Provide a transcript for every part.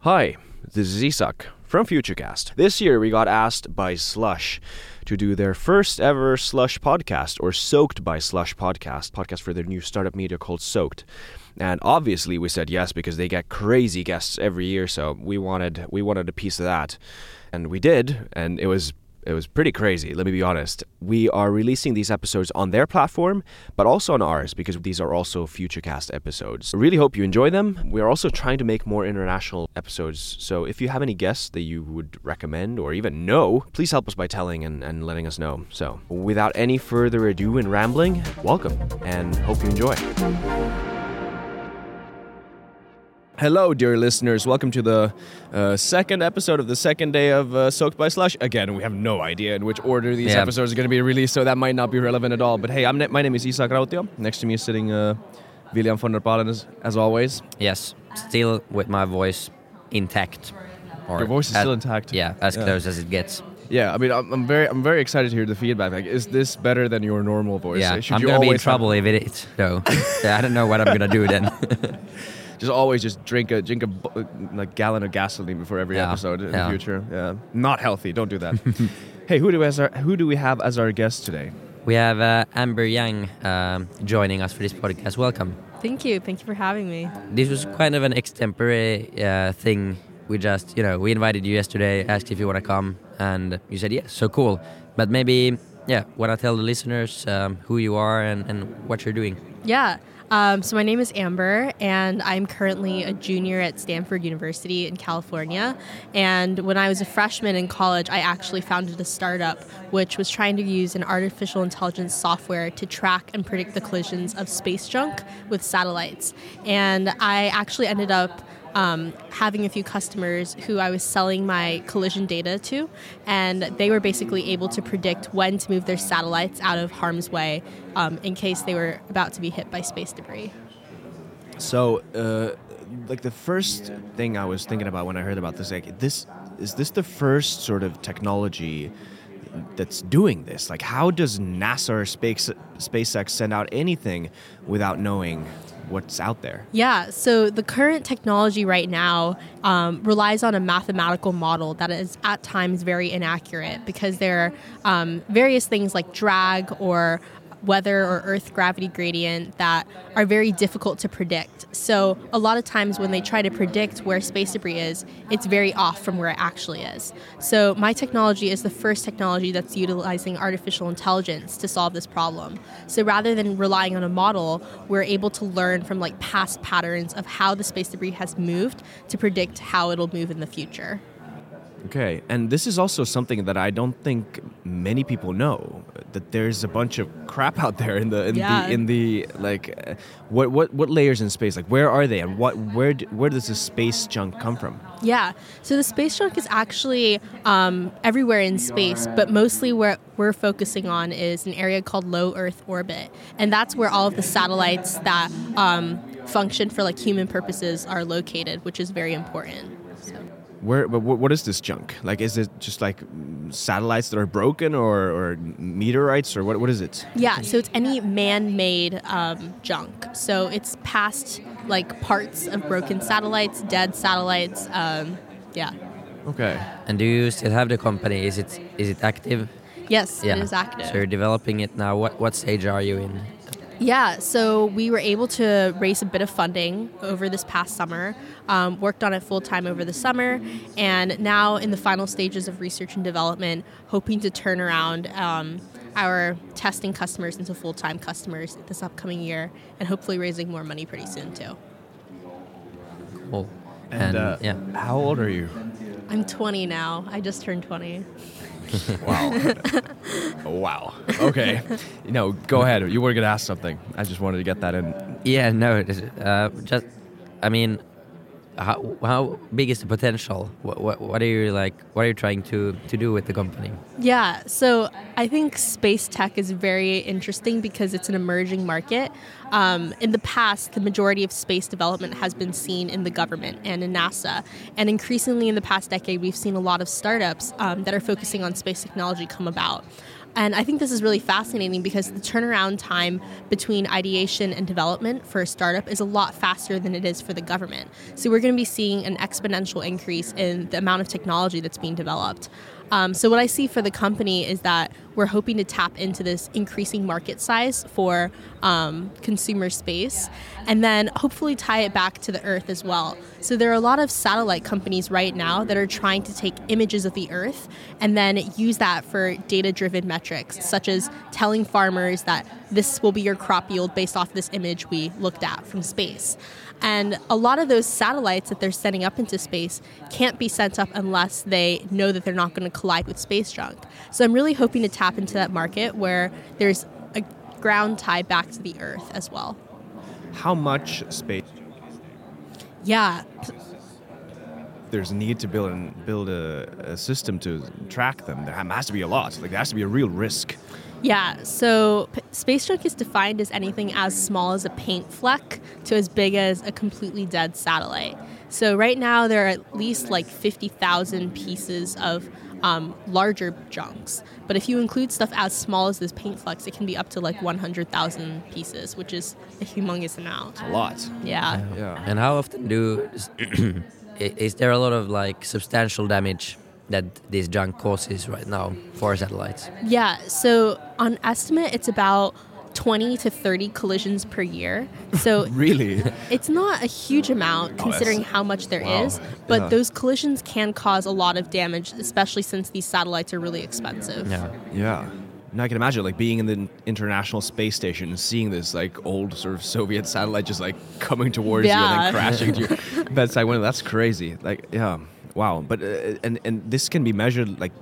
Hi, this is Isak from Futurecast. This year we got asked by Slush to do their first ever Slush podcast, or Soaked by Slush podcast for their new startup media called Soaked. And obviously we said yes because they get crazy guests every year, so we wanted a piece of that. And we did, and it was pretty crazy, let me be honest. We are releasing these episodes on their platform, but also on ours, because these are also Futurecast episodes. I really hope you enjoy them. We are also trying to make more international episodes, so if you have any guests that you would recommend or even know, please help us by telling and letting us know. So, without any further ado and rambling, welcome, and hope you enjoy. Hello, dear listeners. Welcome to the second episode of the second day of Soaked by Slush. Again, we have no idea in which order these episodes are going to be released, so that might not be relevant at all. But hey, my name is Isak Rautio. Next to me is sitting William von der Palen, as always. Yes, still with my voice intact. Your voice is still intact? Yeah, as close as it gets. Yeah, I mean, I'm very excited to hear the feedback. Like, is this better than your normal voice? Yeah, I'm going to be in trouble if it is, though. Yeah, I don't know what I'm going to do then. Just drink a gallon of gasoline before every episode in the future. Yeah, not healthy. Don't do that. Hey, who do we have as our guest today? We have Amber Yang joining us for this podcast. Welcome. Thank you for having me. This was kind of an extempore thing. We just, we invited you yesterday, asked if you want to come, and you said yes. So cool. But maybe, want to tell the listeners who you are and what you're doing? Yeah. So my name is Amber, and I'm currently a junior at Stanford University in California. And when I was a freshman in college, I actually founded a startup which was trying to use an artificial intelligence software to track and predict the collisions of space junk with satellites. And I actually ended up having a few customers who I was selling my collision data to, and they were basically able to predict when to move their satellites out of harm's way in case they were about to be hit by space debris. So, the first thing I was thinking about when I heard about this, is this the first sort of technology that's doing this? Like, how does NASA or SpaceX send out anything without knowing what's out there? Yeah, so the current technology right now relies on a mathematical model that is at times very inaccurate because there are various things like drag or weather or Earth gravity gradient that are very difficult to predict. So a lot of times when they try to predict where space debris is, it's very off from where it actually is. So my technology is the first technology that's utilizing artificial intelligence to solve this problem. So rather than relying on a model, we're able to learn from past patterns of how the space debris has moved to predict how it'll move in the future. Okay, and this is also something that I don't think many people know, that there's a bunch of crap out there in the what layers in space, like where are they, and where does the space junk come from? Yeah, so the space junk is actually everywhere in space, but mostly where we're focusing on is an area called low Earth orbit, and that's where all of the satellites that function for human purposes are located, which is very important. What is this junk? Is it just satellites that are broken or meteorites, or what is it? Yeah, so it's any man-made junk. So it's past parts of broken satellites, dead satellites. Okay. And do you still have the company? Is it active? Yes, it is active. So you're developing it now. What stage are you in? Yeah, so we were able to raise a bit of funding over this past summer, worked on it full-time over the summer, and now in the final stages of research and development, hoping to turn around our testing customers into full-time customers this upcoming year, and hopefully raising more money pretty soon, too. Cool. And how old are you? I'm 20 now. I just turned 20. Wow. Okay. Go ahead. You were going to ask something. I just wanted to get that in. Yeah, no. How big is the potential? What are you trying to do with the company? Yeah, so I think space tech is very interesting because it's an emerging market. In the past, the majority of space development has been seen in the government and in NASA. And increasingly in the past decade, we've seen a lot of startups that are focusing on space technology come about. And I think this is really fascinating because the turnaround time between ideation and development for a startup is a lot faster than it is for the government. So we're going to be seeing an exponential increase in the amount of technology that's being developed. So what I see for the company is that we're hoping to tap into this increasing market size for consumer space and then hopefully tie it back to the Earth as well. So there are a lot of satellite companies right now that are trying to take images of the Earth and then use that for data-driven metrics, such as telling farmers that this will be your crop yield based off this image we looked at from space. And a lot of those satellites that they're sending up into space can't be sent up unless they know that they're not going to collide with space junk. So I'm really hoping to tap into that market where there's a ground tie back to the Earth as well. How much space Yeah. there's a need to build a system to track them? There has to be a lot. Like, there has to be a real risk. Yeah, so space junk is defined as anything as small as a paint fleck to as big as a completely dead satellite. So right now there are at least like 50,000 pieces of larger junks. But if you include stuff as small as this paint flecks, it can be up to like 100,000 pieces, which is a humongous amount. A lot. Yeah. Yeah. And how often is there a lot of like substantial damage that this junk causes right now for satellites? Yeah, so on estimate, it's about 20 to 30 collisions per year. So Really? it's not a huge amount considering how much there is, but those collisions can cause a lot of damage, especially since these satellites are really expensive. Yeah. Yeah. Now I can imagine like being in the International Space Station and seeing this like old sort of Soviet satellite just like coming towards you and then crashing to your bedside window. That's crazy. Like, yeah. Wow. But and this can be measured like.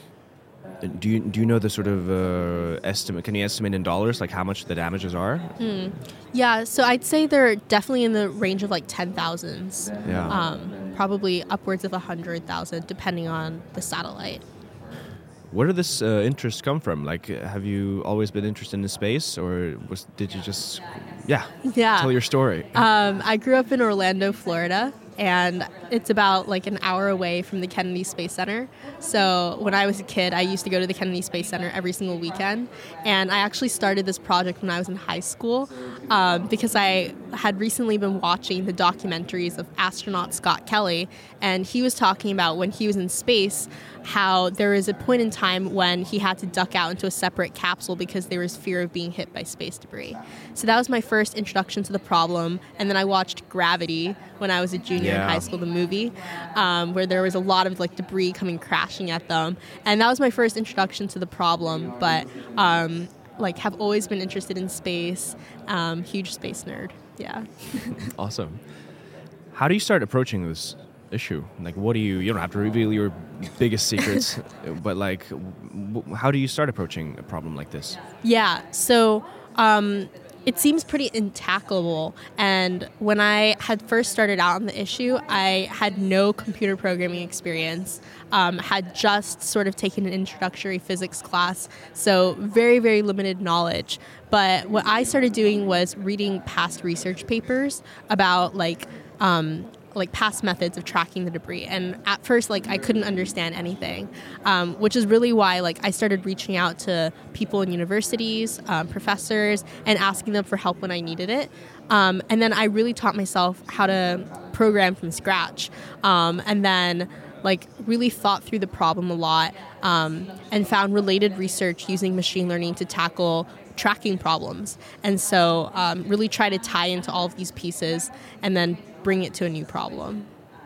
Do you know the sort of estimate? Can you estimate in dollars like how much the damages are? Yeah, so I'd say they're definitely in the range of like 10,000s. Yeah. Probably upwards of 100,000 depending on the satellite. Where did this interest come from? Like, have you always been interested in space, or did you just, Yeah. tell your story? I grew up in Orlando, Florida, and it's about like an hour away from the Kennedy Space Center. So when I was a kid, I used to go to the Kennedy Space Center every single weekend. And I actually started this project when I was in high school because I had recently been watching the documentaries of astronaut Scott Kelly. And he was talking about when he was in space, how there was a point in time when he had to duck out into a separate capsule because there was fear of being hit by space debris. So that was my first introduction to the problem. And then I watched Gravity when I was a junior in high school, the movie, where there was a lot of like debris coming crashing at them. And that was my first introduction to the problem, but like have always been interested in space, huge space nerd. Yeah. Awesome. How do you start approaching this issue? Like, what do you don't have to reveal your biggest secrets, but like, how do you start approaching a problem like this? Yeah. So, it seems pretty intackable. And when I had first started out on the issue, I had no computer programming experience, had just sort of taken an introductory physics class, so very, very limited knowledge. But what I started doing was reading past research papers about like past methods of tracking the debris. And at first, like, I couldn't understand anything, which is really why, like, I started reaching out to people in universities, professors, and asking them for help when I needed it. And then I really taught myself how to program from scratch. And then, like, really thought through the problem a lot, and found related research using machine learning to tackle tracking problems. And so really try to tie into all of these pieces and then bring it to a new problem.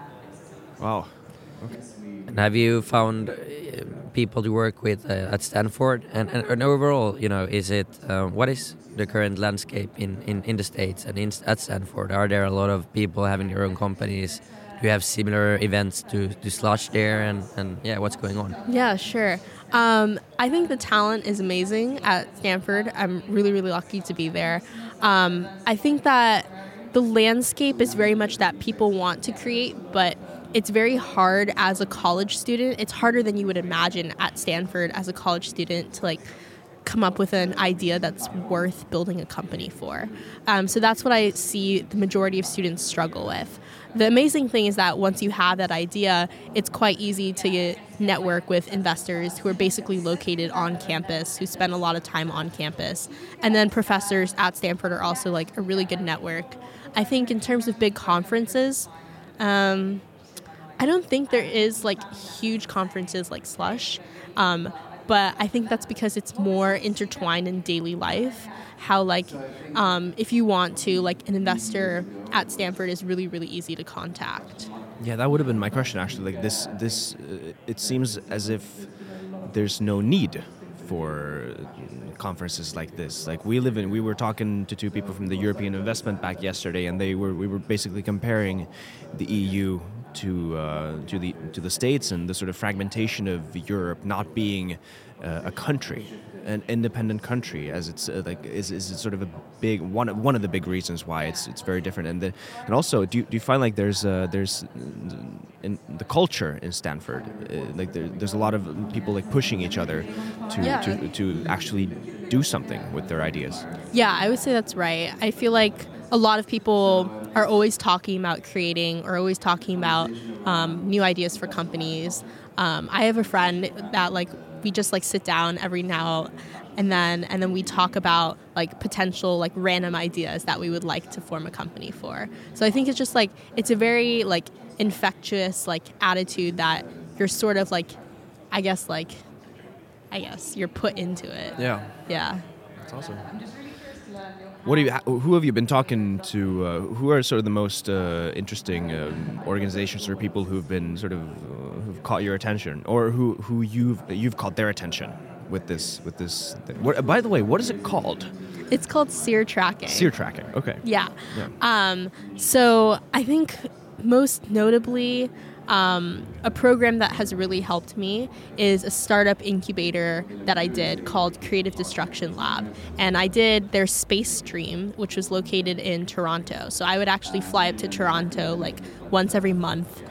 Wow. Okay. And have you found people to work with at Stanford? And overall, you know, is it what is the current landscape in the States and at Stanford? Are there a lot of people having their own companies? Do you have similar events to Slush there? And yeah, what's going on? Yeah, sure. I think the talent is amazing at Stanford. I'm really, really lucky to be there. I think that the landscape is very much that people want to create, but it's very hard as a college student. It's harder than you would imagine at Stanford as a college student to like come up with an idea that's worth building a company for. So that's what I see the majority of students struggle with. the amazing thing is that once you have that idea, it's quite easy to network with investors who are basically located on campus, who spend a lot of time on campus. And then professors at Stanford are also like a really good network. I think in terms of big conferences, I don't think there is like huge conferences like Slush. But I think that's because it's more intertwined in daily life. How like if you want to, like an investor at Stanford is really, really easy to contact. Yeah, that would have been my question actually. Like this, it seems as if there's no need for conferences like this. Like we were talking to two people from the European Investment Bank yesterday, and we were basically comparing the EU to the States and the sort of fragmentation of Europe not being a country, an independent country, as it's is sort of a big one of the big reasons why it's very different. And also, do you find like there's in the culture in Stanford, like there's a lot of people like pushing each other to actually do something with their ideas? Yeah, I would say that's right. I feel like a lot of people are always talking about creating or always talking about new ideas for companies. I have a friend that like we just like sit down every now and then we talk about like potential like random ideas that we would like to form a company for. So I think it's just like it's a very like infectious like attitude that you're sort of like I guess you're put into it. Yeah. Yeah. That's awesome. Who have you been talking to? Who are sort of the most interesting organizations or people who've been sort of who've caught your attention, or who you've caught their attention with this thing? By the way, what is it called? It's called SEER tracking. SEER tracking. Okay. Yeah. So I think most notably, a program that has really helped me is a startup incubator that I did called Creative Destruction Lab. And I did their space stream, which was located in Toronto. So I would actually fly up to Toronto like once every month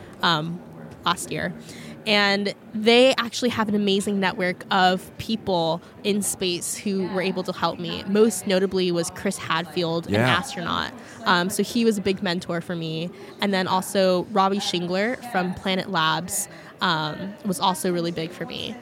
last year. And they actually have an amazing network of people in space who were able to help me. Most notably was Chris Hadfield, an astronaut. So he was a big mentor for me. And then also Robbie Shingler from Planet Labs was also really big for me.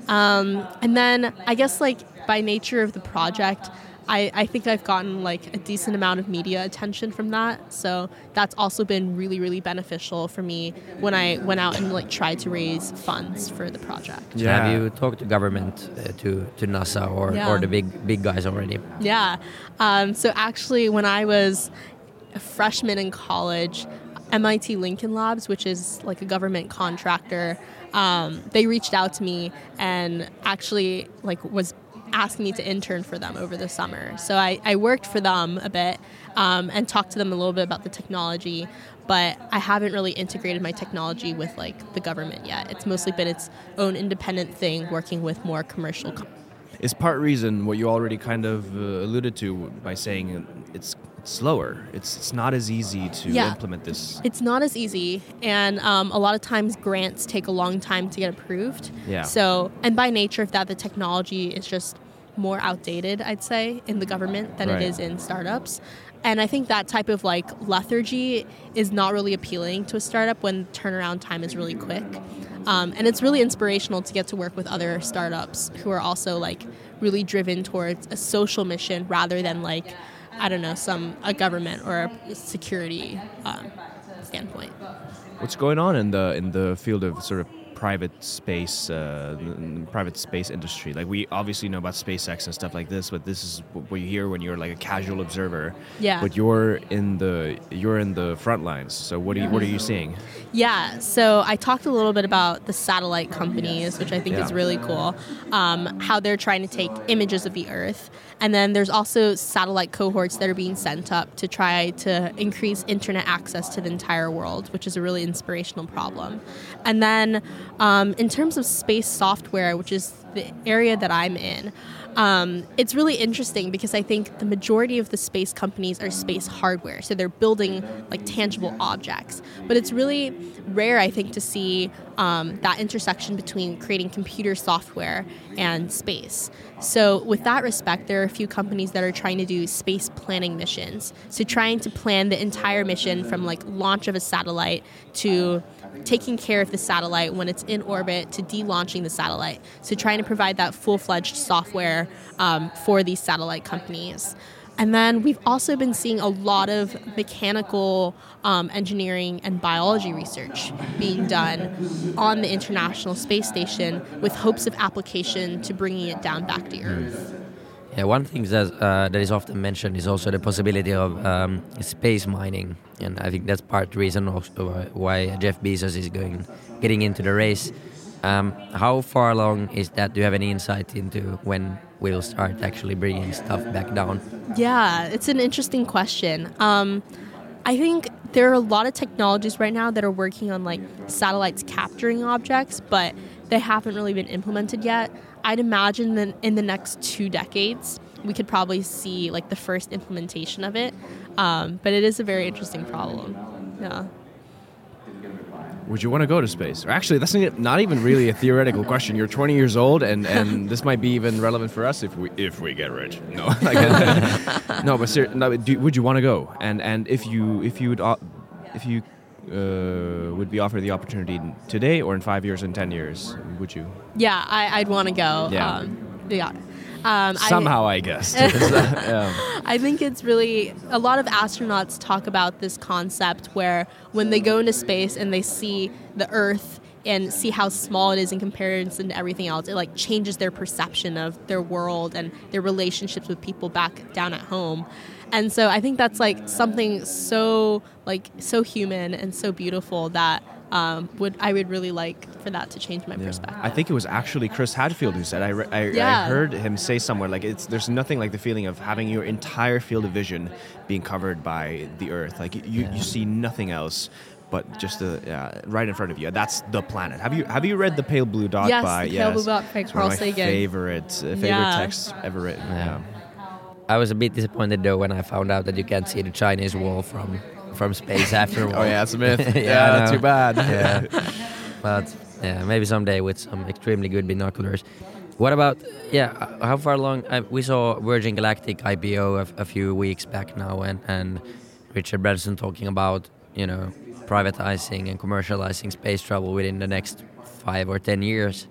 And then I guess like by nature of the project, I think I've gotten like a decent amount of media attention from that. So that's also been really, really beneficial for me when I went out and like tried to raise funds for the project. Yeah. Have you talked to government, to NASA or the big guys already? Yeah. So actually when I was a freshman in college, MIT Lincoln Labs, which is like a government contractor, they reached out to me and actually like was asking me to intern for them over the summer. So I worked for them a bit and talked to them a little bit about the technology, but I haven't really integrated my technology with like the government yet. It's mostly been its own independent thing, working with more commercial companies. Is part reason what you already kind of alluded to by saying it's slower. It's not as easy to implement this. It's not as easy, and a lot of times grants take a long time to get approved. Yeah. So, and by nature of that, the technology is just more outdated, I'd say, in the government than it is in startups. And I think that type of like lethargy is not really appealing to a startup when turnaround time is really quick. And it's really inspirational to get to work with other startups who are also like really driven towards a social mission rather than like, I don't know, a government or a security standpoint. What's going on in the field of sort of private space industry? Like we obviously know about SpaceX and stuff like this, but this is what you hear when you're like a casual observer. Yeah. But you're in the front lines. So what are you seeing? Yeah. So I talked a little bit about the satellite companies, which I think is really cool. How they're trying to take images of the Earth. And then there's also satellite cohorts that are being sent up to try to increase internet access to the entire world, which is a really inspirational problem. And then In terms of space software, which is the area that I'm in, it's really interesting because I think the majority of the space companies are space hardware. So they're building like tangible objects. But it's really rare, I think, to see that intersection between creating computer software and space. So with that respect, there are a few companies that are trying to do space planning missions. So trying to plan the entire mission from like launch of a satellite to taking care of the satellite when it's in orbit to de-launching the satellite. So trying to provide that full-fledged software for these satellite companies. And then we've also been seeing a lot of mechanical engineering and biology research being done on the International Space Station with hopes of application to bringing it down back to Earth. Yeah, one thing that is often mentioned is also the possibility of space mining, and I think that's part of the reason also why Jeff Bezos is getting into the race. How far along is that? Do you have any insight into when we'll start actually bringing stuff back down? Yeah, it's an interesting question. I think there are a lot of technologies right now that are working on like satellites capturing objects, but they haven't really been implemented yet. I'd imagine that in the next 2 decades, we could probably see like the first implementation of it. But it is a very interesting problem. Yeah. Would you want to go to space? Or actually, that's not even really a theoretical question. You're 20 years old, and this might be even relevant for us if we get rich. No, no, but would you want to go? And if you would be offered the opportunity today or in 5 years and 10 years, would you? Yeah, I'd want to go. Yeah. Yeah. Somehow, I guess. I think it's really, a lot of astronauts talk about this concept where when they go into space and they see the Earth and see how small it is in comparison to everything else, it like changes their perception of their world and their relationships with people back down at home. And so I think that's like something so human and so beautiful that I would really like for that to change my perspective. I think it was actually Chris Hadfield who said, I heard him say somewhere, like there's nothing like the feeling of having your entire field of vision being covered by the Earth. Like you see nothing else but just right in front of you. That's the planet. Have you read The Pale Blue Dot by Pale Blue Dot by Carl Sagan. One of my favorite texts ever written. Yeah. I was a bit disappointed though when I found out that you can't see the Chinese wall from space after a while. Oh yeah, it's a myth. Yeah, too bad. Yeah. But yeah, maybe someday with some extremely good binoculars. What about, how far along? We saw Virgin Galactic IPO a few weeks back now, and Richard Branson talking about, privatizing and commercializing space travel within the next 5 or 10 years.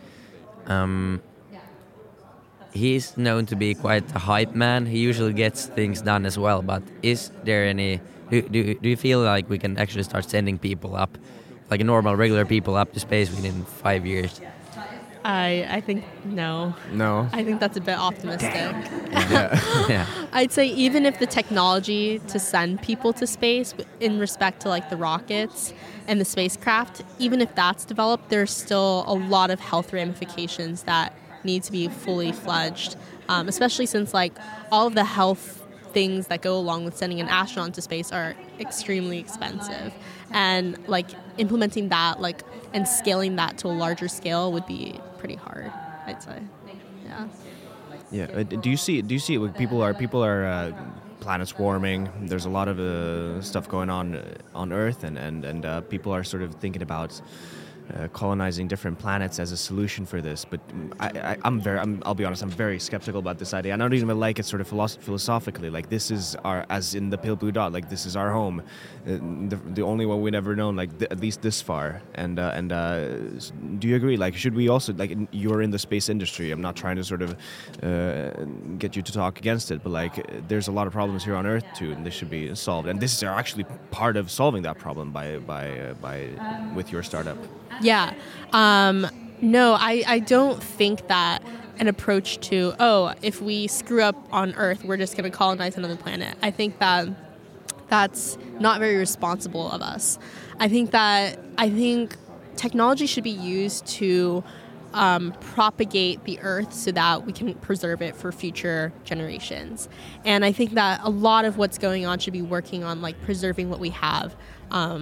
He's known to be quite a hype man. He usually gets things done as well, but is there any... Do you feel like we can actually start sending people up, like regular people up to space within 5 years? I think no. No? I think that's a bit optimistic. Yeah. I'd say even if the technology to send people to space in respect to like the rockets and the spacecraft, even if that's developed, there's still a lot of health ramifications that need to be fully fledged, especially since like all of the health things that go along with sending an astronaut into space are extremely expensive, and like implementing that and scaling that to a larger scale would be pretty hard, I'd say. Yeah. Do you see people are planets warming? There's a lot of stuff going on Earth, and people are sort of thinking about colonizing different planets as a solution for this, but I'll be honest, I'm very skeptical about this idea. I don't even like it sort of philosophically. Like, this is our, as in the Pale Blue Dot, like this is our home, the only one we've ever known, like at least this far. And do you agree? Like, should we also, like, you're in the space industry, I'm not trying to sort of get you to talk against it, but like there's a lot of problems here on Earth too, and this should be solved. And this is actually part of solving that problem by with your startup. Yeah. No, I don't think that an approach to, if we screw up on Earth, we're just going to colonize another planet. I think that that's not very responsible of us. I think technology should be used to propagate the Earth so that we can preserve it for future generations. And I think that a lot of what's going on should be working on like preserving what we have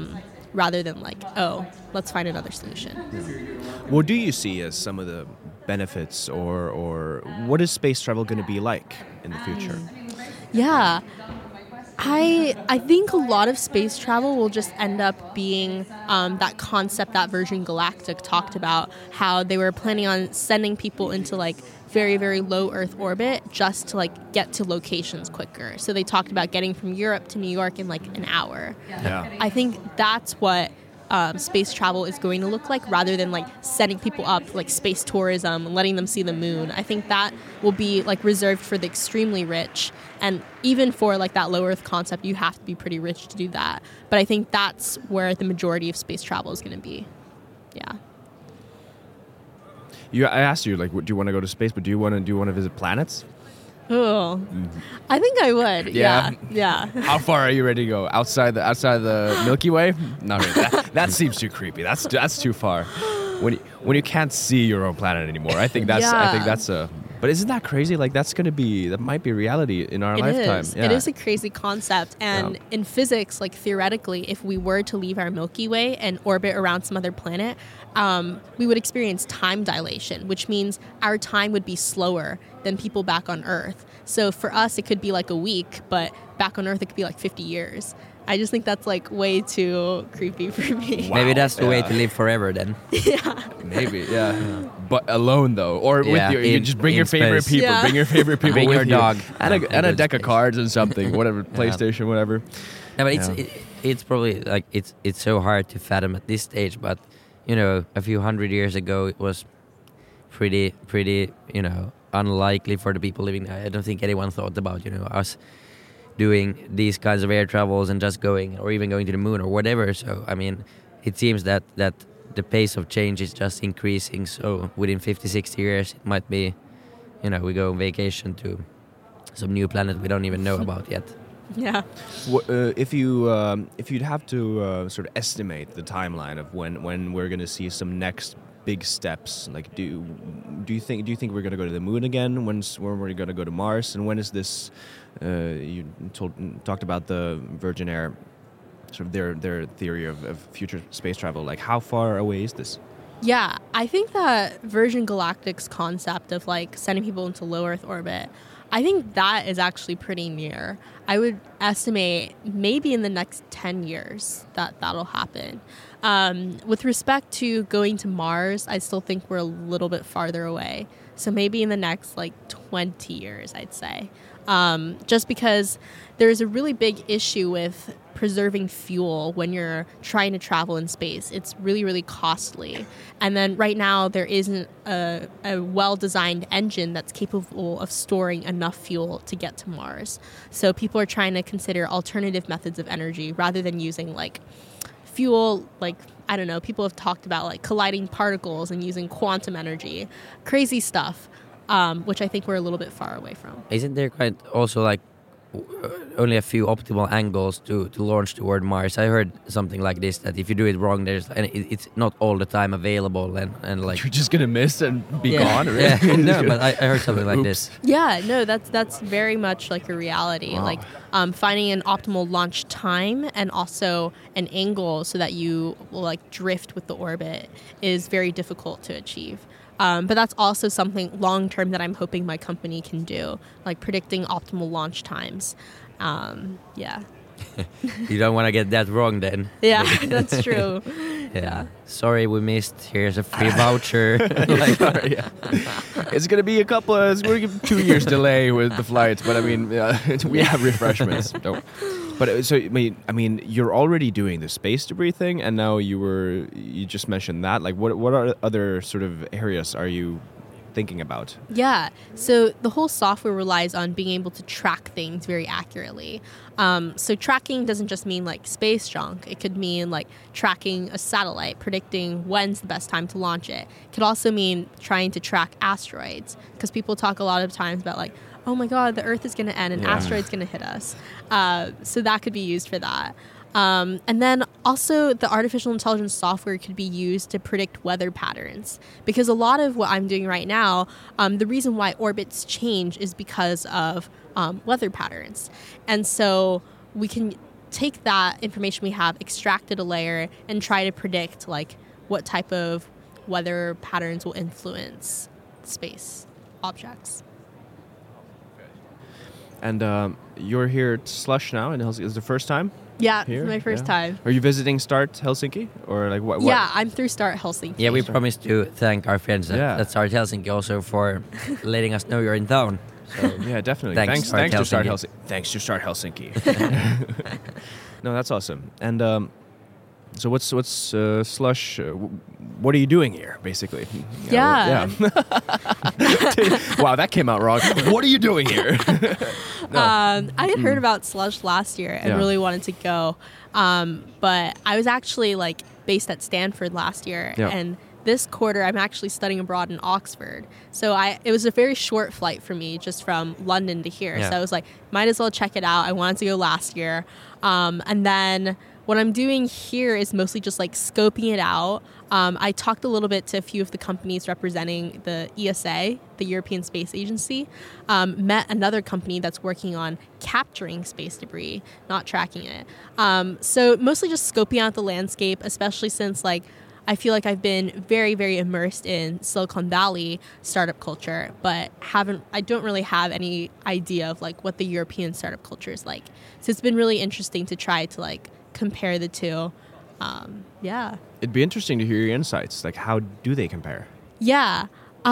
rather than like, oh, let's find another solution. What do you see as some of the benefits, or what is space travel going to be like in the future? Yeah. I think a lot of space travel will just end up being that concept that Virgin Galactic talked about, how they were planning on sending people into like very, very low Earth orbit just to like get to locations quicker. So they talked about getting from Europe to New York in like an hour. Yeah. I think that's what space travel is going to look like, rather than like setting people up like space tourism and letting them see the moon. I think that will be like reserved for the extremely rich, and even for like that low Earth concept, you have to be pretty rich to do that. But I think that's where the majority of space travel is going to be. Yeah. I asked you, like, do you want to go to space, but do you want to visit planets? Oh, I think I would. Yeah. Yeah. How far are you ready to go? Outside the Milky Way? Not really. That seems too creepy. That's too far. When you can't see your own planet anymore, I think that's a. But isn't that crazy? Like that might be reality in our lifetime. Is. Yeah. It is a crazy concept. And in physics, like theoretically, if we were to leave our Milky Way and orbit around some other planet, we would experience time dilation, which means our time would be slower than people back on Earth. So for us, it could be like a week, but back on Earth, it could be like 50 years. I just think that's like way too creepy for me. Wow. Maybe that's the way to live forever then. Yeah. Maybe, yeah. But alone though, or with you just bring your favorite space. people. Yeah. Bring your favorite people. Bring with your you. dog. and a deck of Space. cards and something, whatever, PlayStation, whatever. No, but it's probably like it's so hard to fathom at this stage. But you know, a few hundred years ago, it was pretty unlikely for the people living there. I don't think anyone thought about us doing these kinds of air travels and just going, or even going to the moon or whatever. So I mean, it seems that the pace of change is just increasing. So within 50, 60 years, it might be, we go on vacation to some new planet we don't even know about yet. Yeah. If you'd have to sort of estimate the timeline of when we're going to see some next big steps, like do you think we're going to go to the moon again? When we're going to go to Mars? And when is this? You talked about the Virgin Air, sort of their theory of future space travel. Like, how far away is this? Yeah, I think that Virgin Galactic's concept of like sending people into low Earth orbit, I think that is actually pretty near. I would estimate maybe in the next 10 years that'll happen. With respect to going to Mars, I still think we're a little bit farther away. So maybe in the next like 20 years, I'd say. Just because there's a really big issue with preserving fuel when you're trying to travel in space. It's really, really costly. And then right now there isn't a well-designed engine that's capable of storing enough fuel to get to Mars. So people are trying to consider alternative methods of energy rather than using like fuel, like, I don't know, people have talked about like colliding particles and using quantum energy. Crazy stuff, which I think we're a little bit far away from. Isn't there quite also like only a few optimal angles to launch toward Mars? I heard something like this, that if you do it wrong, it's not all the time available, and like You're just gonna miss and be gone. Right? Yeah, no, but I heard something like this. Yeah, no, that's very much like a reality. Wow. Like finding an optimal launch time and also an angle so that you will like drift with the orbit is very difficult to achieve. But that's also something long-term that I'm hoping my company can do, like predicting optimal launch times. Yeah. You don't want to get that wrong then. Yeah, that's true. Yeah. Sorry, we missed. Here's a free voucher. Like, Yeah. It's gonna be it's gonna be 2 years delay with the flights, but I mean, we have refreshments. Don't. But so I mean, you're already doing the space debris thing, and now you just mentioned that. Like, what are other sort of areas are you thinking about? Yeah, so the whole software relies on being able to track things very accurately. So tracking doesn't just mean like space junk. It could mean like tracking a satellite, predicting when's the best time to launch it. It could also mean trying to track asteroids, because people talk a lot of times about like, oh my God, the Earth is going to end and asteroid's going to hit us. So that could be used for that. And then also the artificial intelligence software could be used to predict weather patterns, because a lot of what I'm doing right now, the reason why orbits change is because of weather patterns. And so we can take that information we have, extract it a layer, and try to predict like what type of weather patterns will influence space objects. And you're here at Slush now in Helsinki. Is it the first time? Yeah, Here? it's my first time. Are you visiting Start Helsinki or like what? Yeah, I'm through Start Helsinki. Yeah, we promised to thank our friends at Start Helsinki also for letting us know you're in town. So Yeah, definitely. Thanks, Thanks to Start Helsinki. Helsinki. Thanks to Start Helsinki. No, that's awesome. And so what's Slush? What are you doing here, basically? Yeah. Wow, that came out wrong. What are you doing here? I had heard about Slush last year and Yeah. really wanted to go, but I was actually like based at Stanford last year, Yeah. and this quarter I'm actually studying abroad in Oxford. So it was a very short flight for me, just from London to here. Yeah. So I was like, might as well check it out. I wanted to go last year, and then what I'm doing here is mostly just like scoping it out. I talked a little bit to a few of the companies representing the ESA, the European Space Agency. Met another company that's working on capturing space debris, not tracking it. So mostly just scoping out the landscape, especially since like I feel like I've been very, very immersed in Silicon Valley startup culture, but I don't really have any idea of like what the European startup culture is like. So it's been really interesting to try to like compare the two. Yeah. It'd be interesting to hear your insights. Like, how do they compare? Yeah.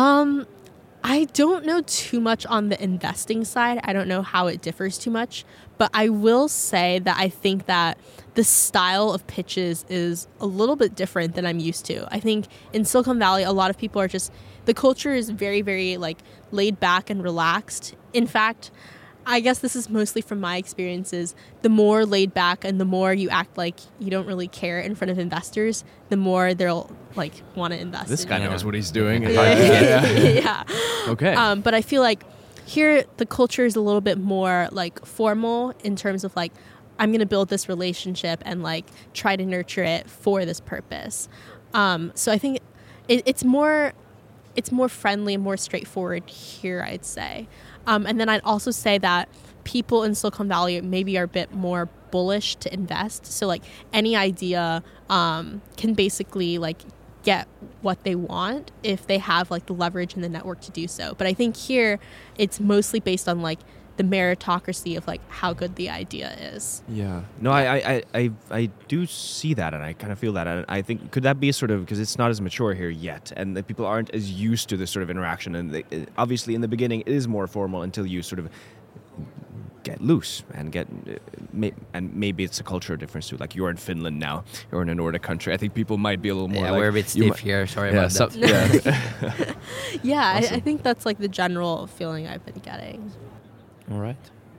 I don't know too much on the investing side. I don't know how it differs too much, but I will say that I think that the style of pitches is a little bit different than I'm used to. I think in Silicon Valley, a lot of people are the culture is very, very like laid back and relaxed. In fact, I guess this is mostly from my experiences. The more laid back and the more you act like you don't really care in front of investors, the more they'll like want to invest. This in guy you. knows what he's doing. Yeah. Okay. But I feel like here the culture is a little bit more like formal in terms of like I'm going to build this relationship and like try to nurture it for this purpose. So I think it's more friendly and more straightforward here, I'd say. And then I'd also say that people in Silicon Valley maybe are a bit more bullish to invest. So like any idea can basically like get what they want if they have like the leverage and the network to do so. But I think here it's mostly based on like the meritocracy of like how good the idea is. Yeah. No, I do see that, and I kind of feel that, and I think could that be sort of because it's not as mature here yet, and the people aren't as used to this sort of interaction, and obviously in the beginning it is more formal until you sort of get loose and get, and maybe it's a cultural difference too. Like you're in Finland now, you're in a Nordic country. I think people might be a little more. Yeah, like, we're a bit stiff here. Sorry about that. Yeah. Yeah, Awesome. I think that's like the general feeling I've been getting. All right.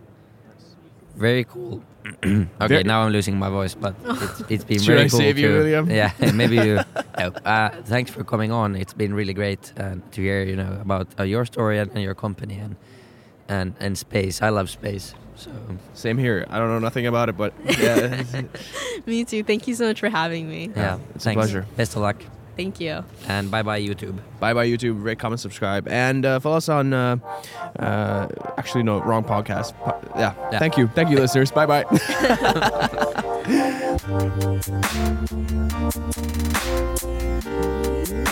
Very cool. Okay, now I'm losing my voice, but it's been Should very I cool. save you, William? Yeah, maybe you. Thanks for coming on. It's been really great to hear, about your story and your company and space. I love space. So Same here. I don't know nothing about it, but yeah. Me too. Thank you so much for having me. yeah, it's a thanks. pleasure. Best of luck, Thank you. and bye bye YouTube. Bye bye YouTube. Rate, comment, subscribe, and follow us on. Actually, no, wrong podcast. Yeah. Thank you, listeners. Bye bye.